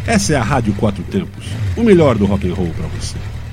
Essa é a Rádio Quatro Tempos, o melhor do rock and roll para você.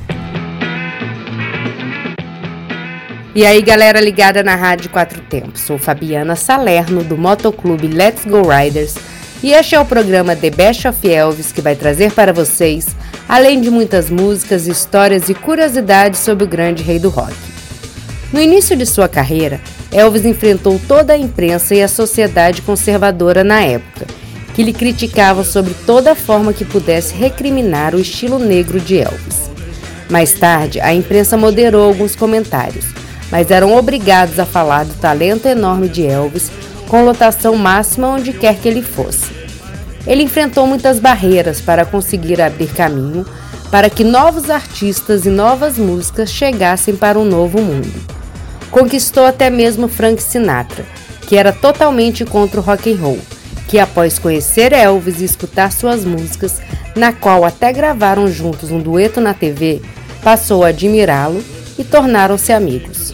E aí, galera ligada na Rádio Quatro Tempos, sou Fabiana Salerno do Motoclube Let's Go Riders e este é o programa The Best of Elvis, que vai trazer para vocês, além de muitas músicas, histórias e curiosidades sobre o grande rei do rock. No início de sua carreira, Elvis enfrentou toda a imprensa e a sociedade conservadora na época, que lhe criticavam sobre toda forma que pudesse recriminar o estilo negro de Elvis. Mais tarde, a imprensa moderou alguns comentários, mas eram obrigados a falar do talento enorme de Elvis, com lotação máxima onde quer que ele fosse. Ele enfrentou muitas barreiras para conseguir abrir caminho para que novos artistas e novas músicas chegassem para um novo mundo. Conquistou até mesmo Frank Sinatra, que era totalmente contra o rock and roll, que após conhecer Elvis e escutar suas músicas, na qual até gravaram juntos um dueto na TV, passou a admirá-lo e tornaram-se amigos.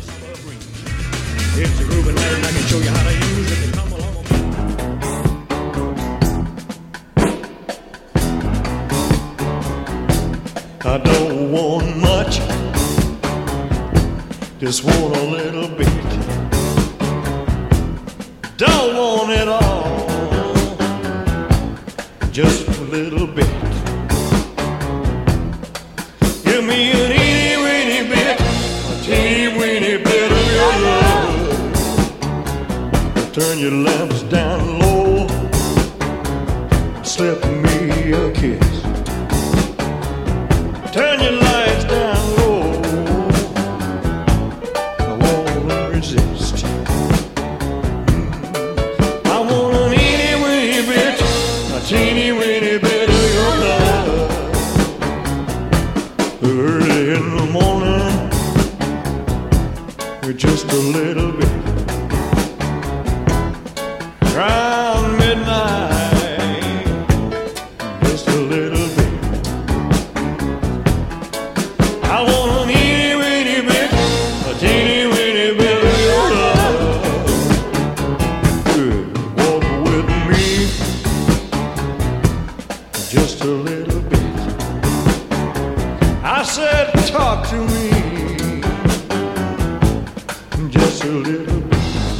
I don't want much, just want a little bit. Don't want it all, just a little bit. Give me an itty weeny bit, a teeny weeny bit of your love. Turn your lamps down low, slip me a kiss. Turn your lights down low, I wanna resist. I want an itty weeny bit, a teeny weeny bit of your love. Early in the morning, just a little bit. Around midnight, just a little bit. I want an itty weeny bit, a teeny weeny bit of your love. Walk with me, just a little bit. I said talk to me, just a little bit.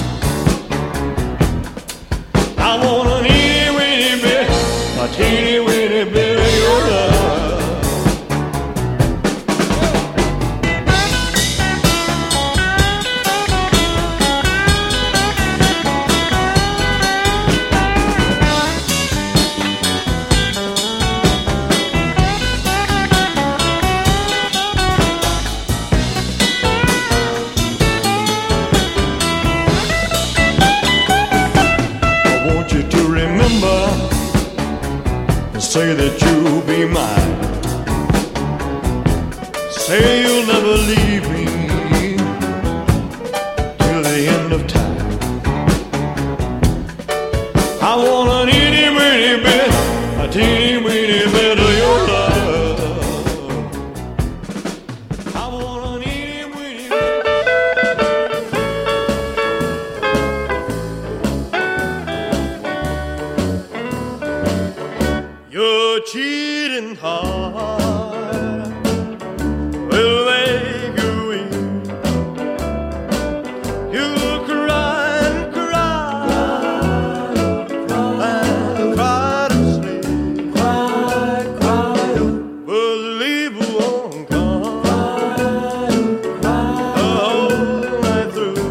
I want an itty weeny bit, a teeny weeny bit of your love. Say that you'll be mine. Say you'll never leave me till the end of time. I want an itty weeny bit, a teeny weeny bit of your love. I want an itty weeny Your cheating heart will make you weep. You'll cry and cry and cry to sleep. But sleep won't come the whole night through.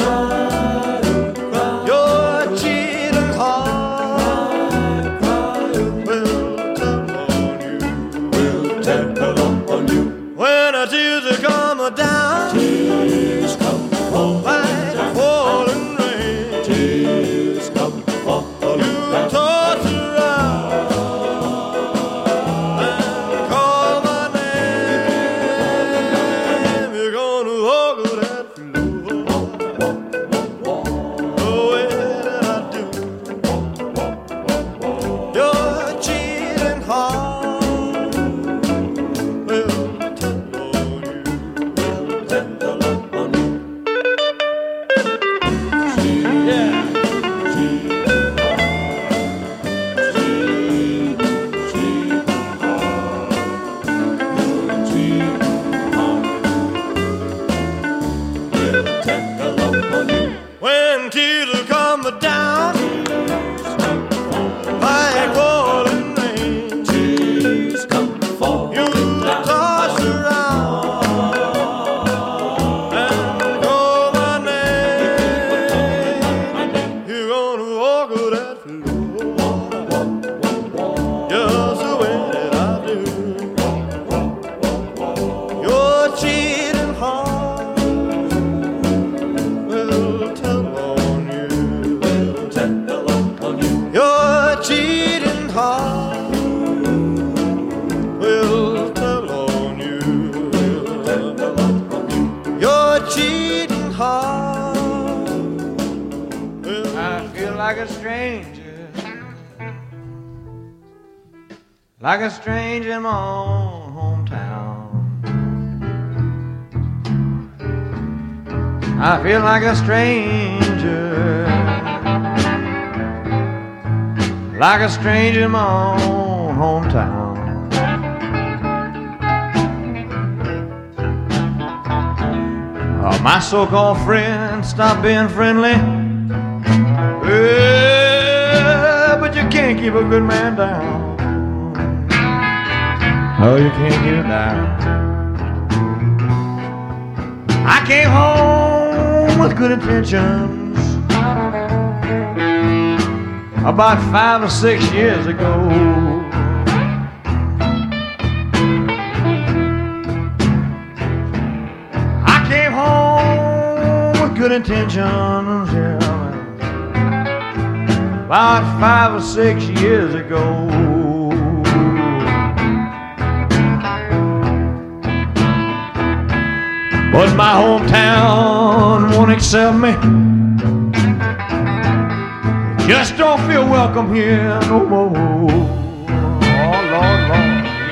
Your cheating heart will come on you, will just the way that I do. Your cheating heart will tell on you. Your cheating heart will tell on you. Your cheating heart will. I feel like a stranger, like a stranger in my own hometown. I feel like a stranger, like a stranger in my own hometown. My so-called friends stop being friendly. But you can't keep a good man down. Oh, you can't keep him down. I came home with good intentions about 5 or 6 years ago. I came home with good intentions, yeah, about 5 or 6 years ago. But my hometown won't accept me. Just don't feel welcome here no more. Oh, Lord, Lord.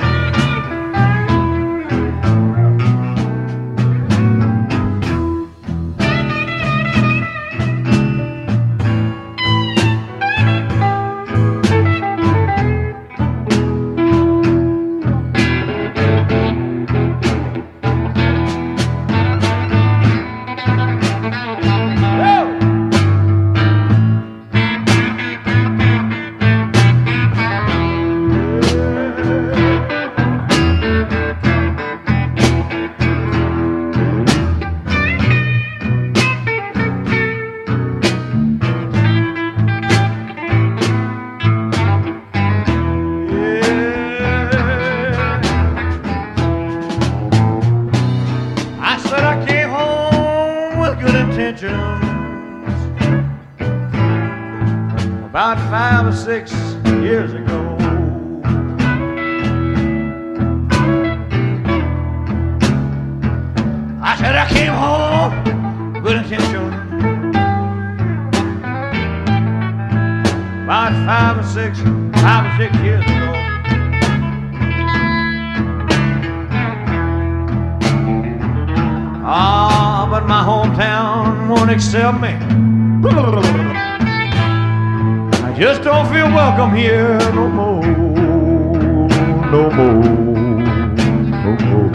About 5 or 6 years ago. I said I came home with good intention. About 5 or 6 years ago. Ah, but my hometown won't accept me. I just don't feel welcome here no more, no more, no more.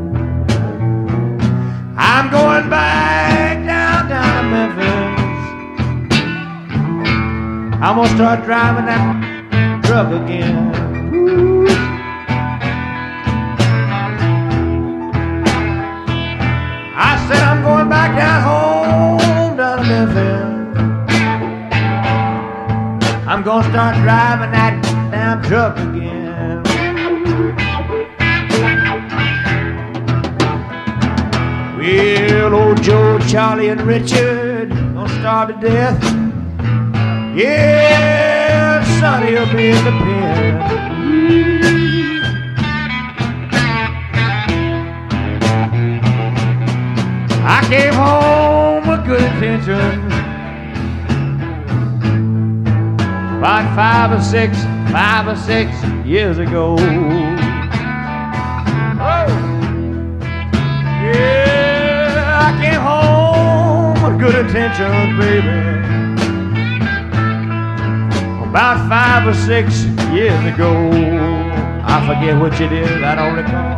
I'm going back down to Memphis. I'm gonna start driving that truck again. Ooh. I said I'm going back down home down to Memphis. I'm gonna start driving that damn truck again. Well, old Joe, Charlie, and Richard gonna starve to death. Yeah, Sonny will be in the pen. I came home with good intentions about 5 or 6 years ago. Oh, yeah, I came home with good intentions, baby, about 5 or 6 years ago. I forget which it is, I don't recall.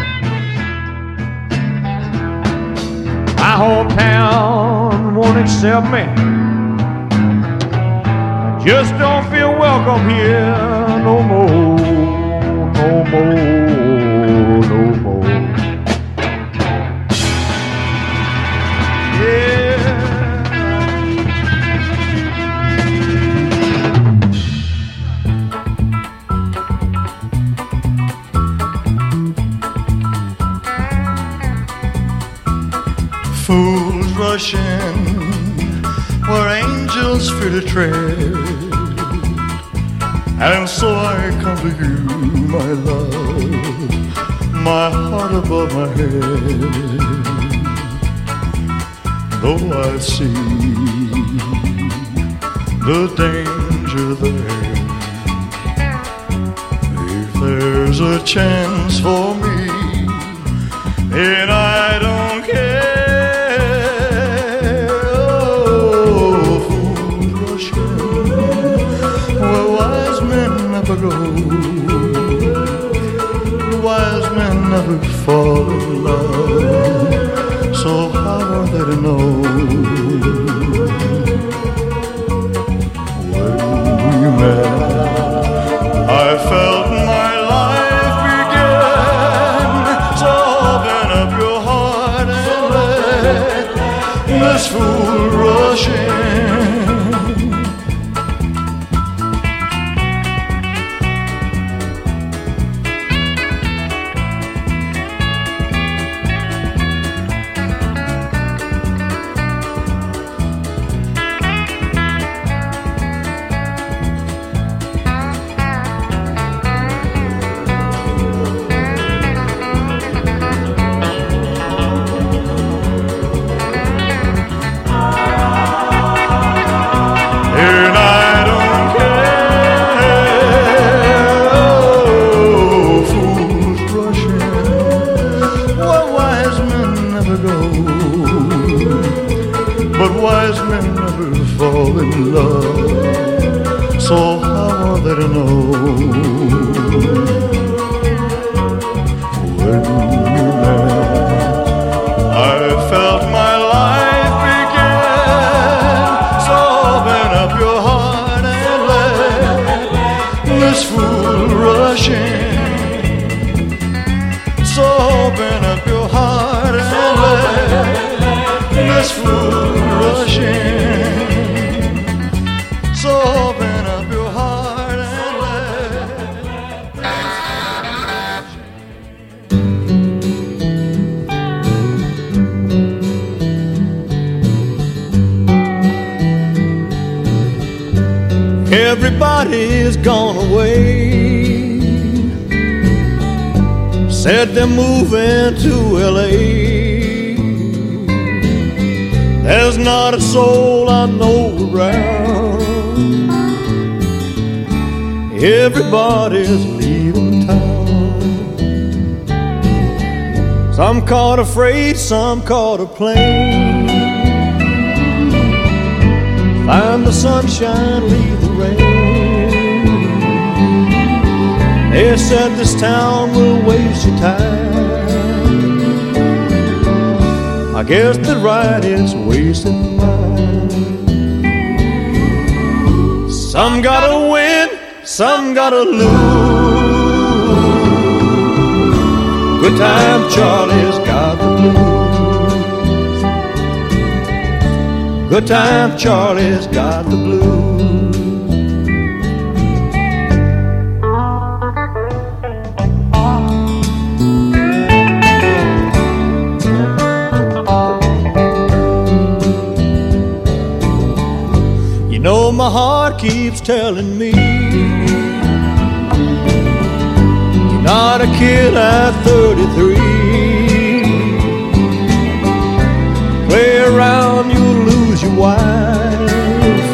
My hometown won't accept me. Just don't feel welcome here no more, no more, no more. Yeah. rushing where angels fear to tread. And so I come to you, my love, my heart above my head. Though I see the danger there, if there's a chance for me, and I don't care. Oh, fools rushing where wise men never go. Wise men never fall in love, so how are they to know? When we met, I felt my life begin. So open up your heart and let this fool rush in. So how are they to know? When we met, I felt my life begin. So open up your heart and let this fool rush in. So open up your heart and let this fool rush in. So open up your heart and everybody's gone away. Said they're moving to LA. There's not a soul I know around. Everybody's leaving town. Some caught a freight, some caught a plane. Find the sunshine, leave the rain. They said this town will waste your time. I guess they're right, it's wasting mine. Some gotta win, some gotta lose. Good time Charlie's got the blues. Good time Charlie's got the blues. You know my heart keeps telling me you're not a kid at 33. Play around, you'll lose your wife.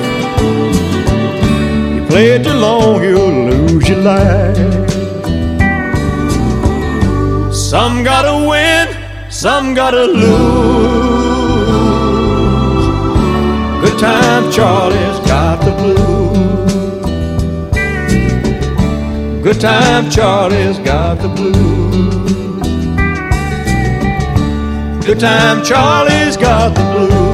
You play too long, you'll lose your life. Some gotta win, some gotta lose. Good time Charlie's got the blues. Good time Charlie's got the blues. Good time Charlie's got the blues.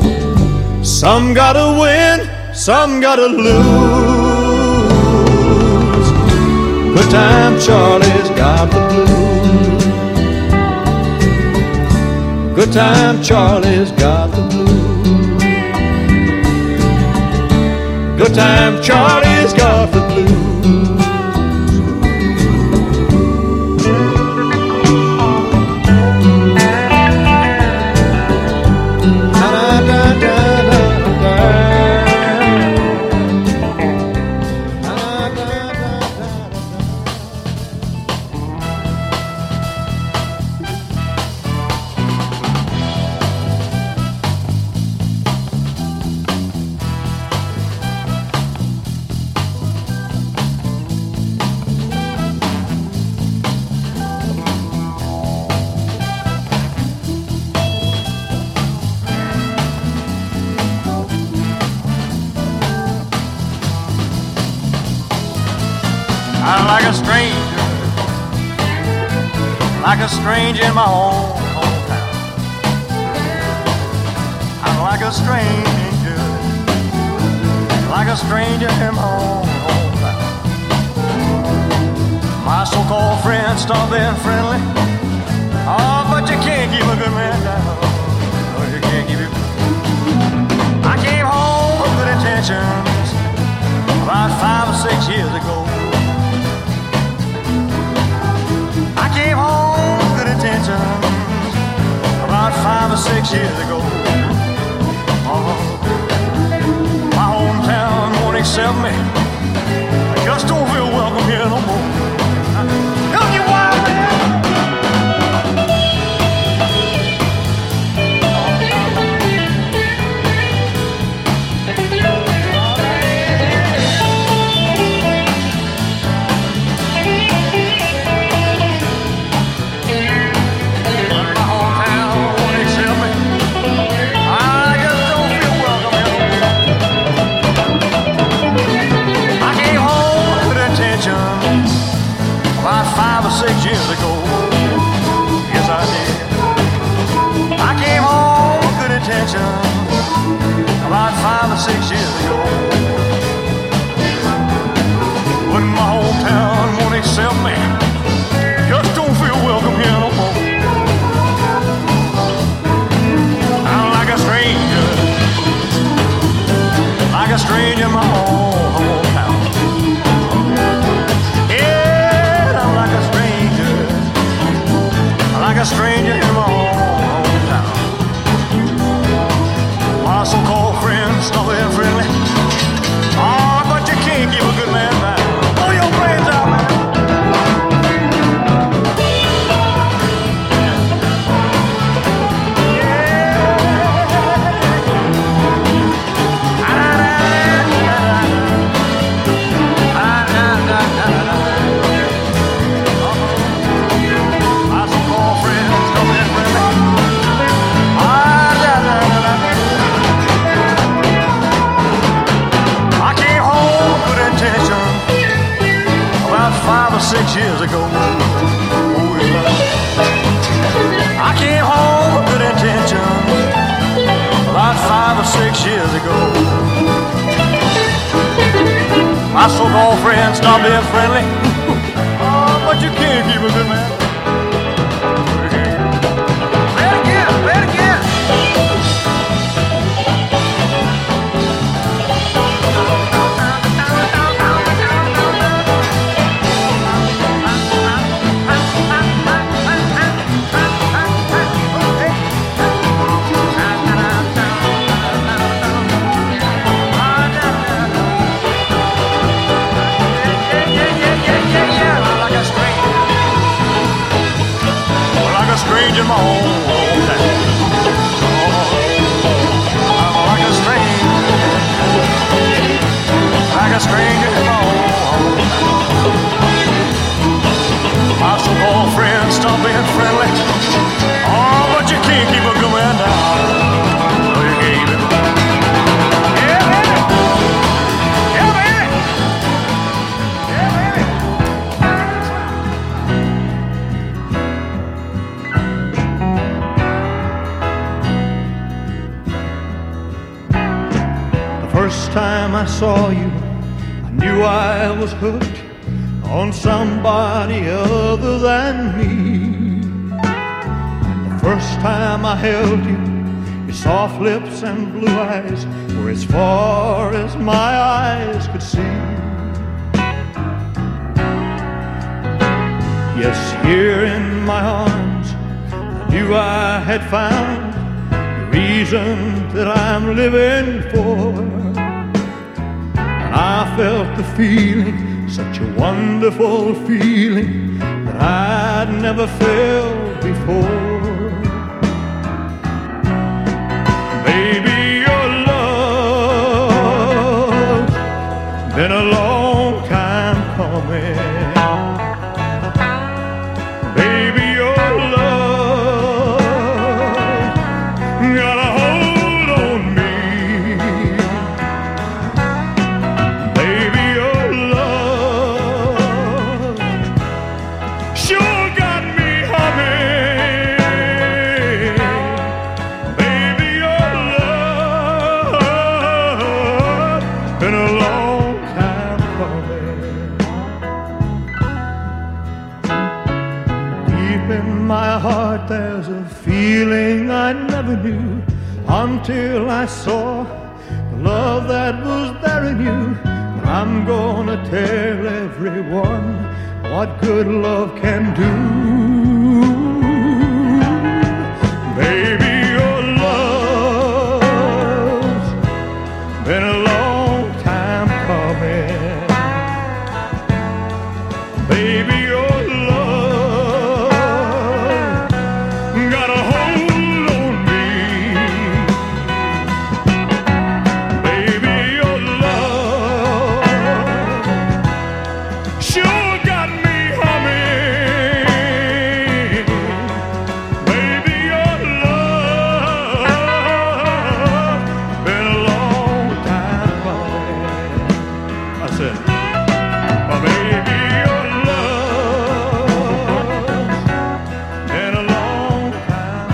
Some gotta win, some gotta lose. time Charlie's got the blues. Good time Charlie's got the blues. Good time Charlie's got the blues. Like a stranger in my own hometown. I'm like a stranger, like a stranger in my own hometown. My so-called friends stop being friendly. Oh, but you can't keep a good man down. No, you can't keep it. I came home with good intentions about 5 or 6 years ago. I came home with good intentions about 5 or 6 years ago. My hometown won't accept me. I just don't feel welcome here no more. Help you wild man. About 5 or 6 years ago, yes I did. I came home with good intentions about 5 or 6 years ago. When my hometown won't accept me, just don't feel welcome here no more. I'm like a stranger in my own hometown. Like a stranger in my own hometown. My so-called friends stop being friendly. Oh, but you can't keep a good man down. Blow your brains out, man. About 5 or 6 years ago, I came home with good intentions. About 5 or 6 years ago, my so-called friends stopped being friendly. Oh, but you can't keep a good man. Play it again, play it again. Stranger in my own hometown. I'm like a stranger in my own hometown. My so-called friends stop being friendly. Oh, but you can't keep a good man down. No, you can't keep it. Yeah, baby. Yeah, baby. Yeah, baby. First time I saw you, I knew I was hooked. on somebody other than me. And the first time I held you, your soft lips and blue eyes were as far as my eyes could see. Yes, here in my arms, I knew I had found the reason that I'm living for. And I felt the feeling, such a wonderful feeling that I'd never felt before. Baby, your love's been a long time coming. Baby, your love got a hold on me. Baby, your love sure got me humming. Baby, your love been a long time coming. Deep in my heart there's a feeling I never knew until I saw the love that was there in you. But I'm gonna tell everyone what good love can do. Baby, your love's been a long time coming. Baby, your love got a hold on me. Baby, your love sure got me humming. Baby, your love been a long time coming. I said, oh, baby, your love's been a long time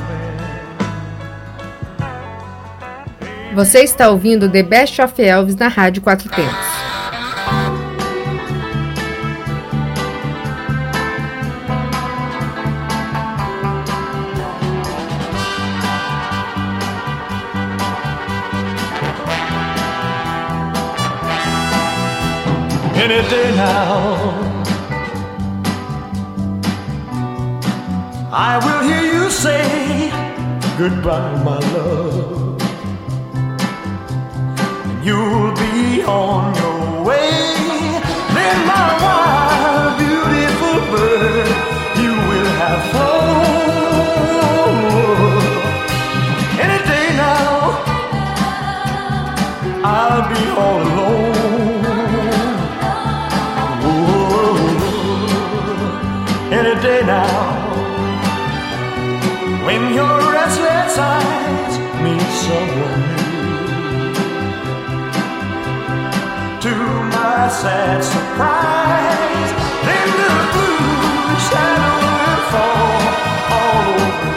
coming. Você está ouvindo The Best of Elvis na Rádio Quatro Tempos. Any day now, I will hear you say goodbye, my love. You'll be on your way. Then my wild, beautiful bird, you will have flown. Any day now, I'll be all alone. Any day now, when your restless eyes meet someone new, to my sad surprise, then the blue shadow will fall all over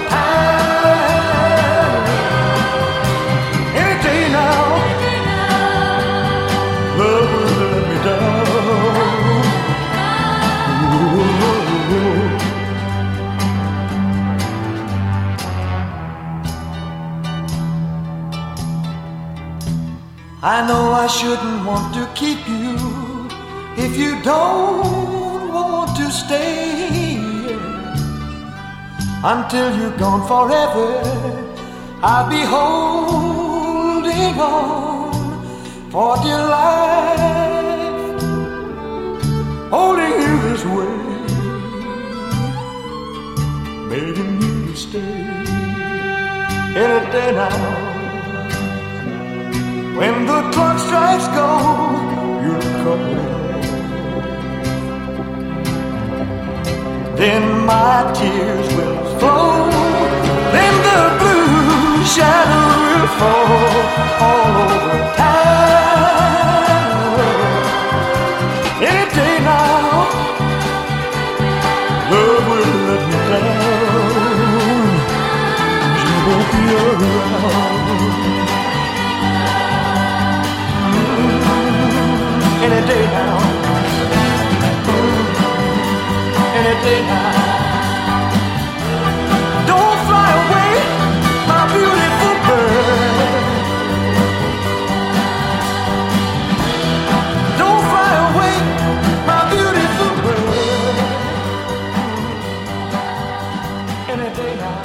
town. Any day now, love will let me down. I know I shouldn't want to keep you if you don't want to stay. Until you're gone forever, I'll be holding on for dear life, holding you this way, begging you to stay. Any day now, when the clock strikes gold, you'll come home. Then my tears will flow. Then the blue shadow will fall all over town. Any day now, love will let me down. You won't be around. Any day now.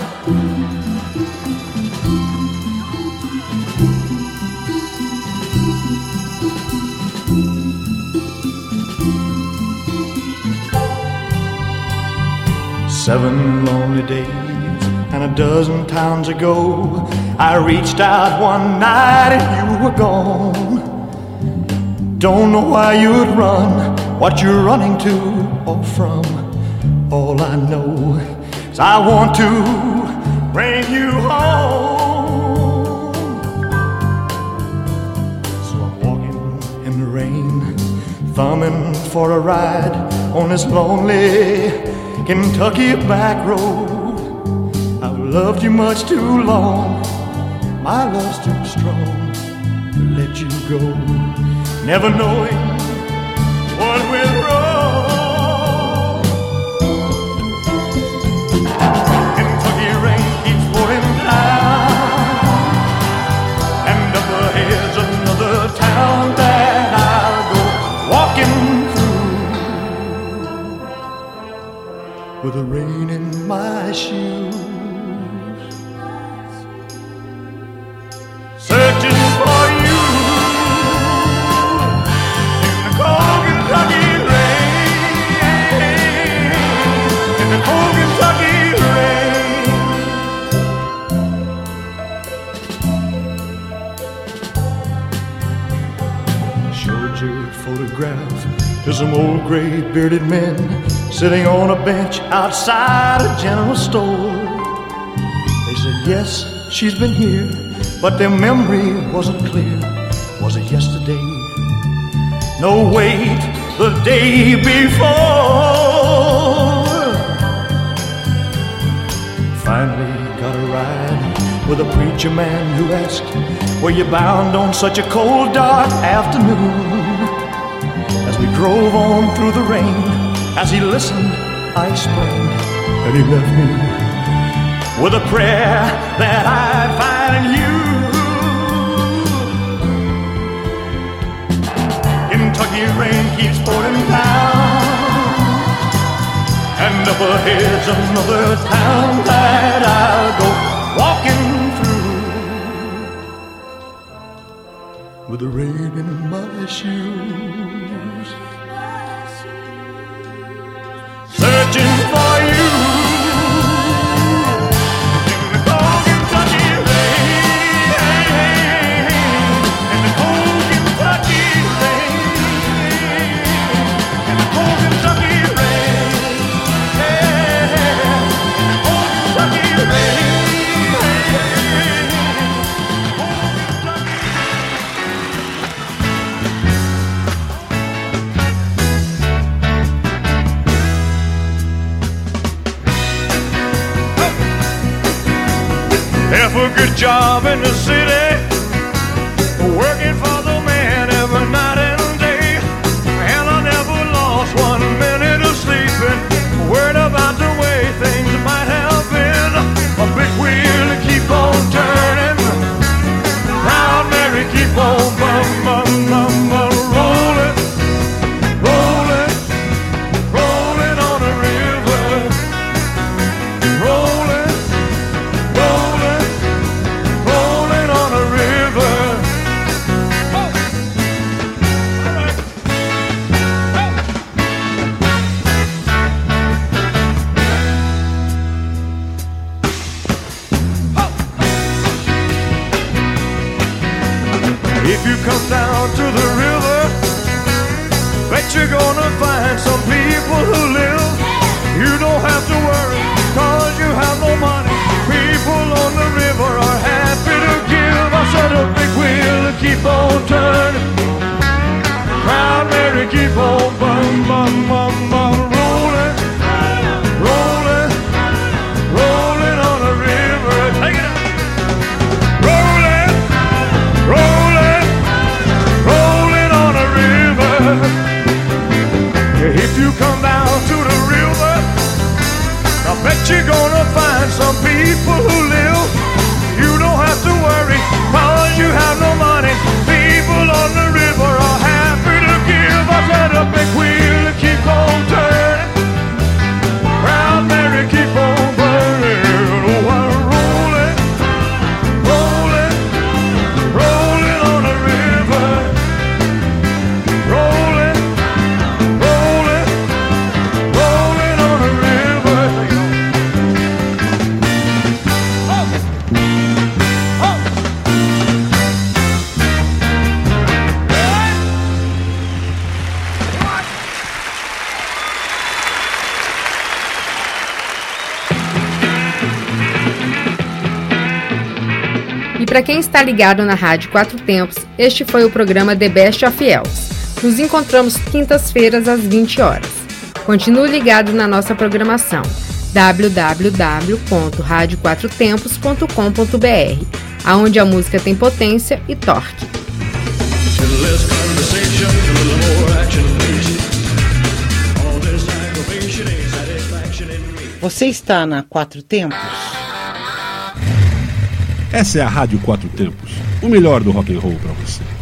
7 lonely days and a dozen times ago, I reached out one night and you were gone. Don't know why you'd run, what you're running to or from. All I know is I want to bring you home. So I'm walking in the rain, thumbing for a ride on this lonely Kentucky back road. I've loved you much too long, my love's too strong to let you go, never knowing what went wrong. Kentucky rain keeps pouring down, and up ahead's another town that I'll go walking with the rain in my shoes, searching for you in the cold Kentucky rain, in the cold Kentucky rain. I showed your photograph to some old gray bearded men sitting on a bench outside a general store. They said, yes, she's been here, but their memory wasn't clear. Was it yesterday? No, wait, the day before. Finally got a ride with a preacher man who asked, were you bound on such a cold, dark afternoon? As we drove on through the rain, as he listened, I explained, and he left me with a prayer that I'd find in you. Kentucky rain keeps pouring down, and up ahead's another town that I'll go walking through with the rain in my shoes, searching for you in the cold Kentucky rain, in the cold Kentucky rain, in the cold Kentucky rain, yeah, in the cold Kentucky rain. Have a good job in the city, working for the man every night and day, and I never lost 1 minute of sleeping, worried about the way things might have been. A big wheel to keep on turning, Proud Mary keep on rolling, rolling, rolling on the river, rolling, rolling, rolling on the river. If you come down to the river, bet you're gonna find some people who live. You don't have to worry, cause you have no money. People on the river are happy to give. I said a big wheel to keep on turning, Proud Mary keep on rolling, rolling, rolling on the river. Take it up. Rolling, rolling, rolling on the river. Yeah, if you come down to the river, I para quem está ligado na Rádio Quatro Tempos, este foi o programa The Best of Elvis. Nos encontramos quintas-feiras às 20 horas. Continue ligado na nossa programação www.radioquatrotempos.com.br, aonde a música tem potência e torque. Você está na Quatro Tempos? Essa é a Rádio Quatro Tempos, o melhor do rock and roll para você.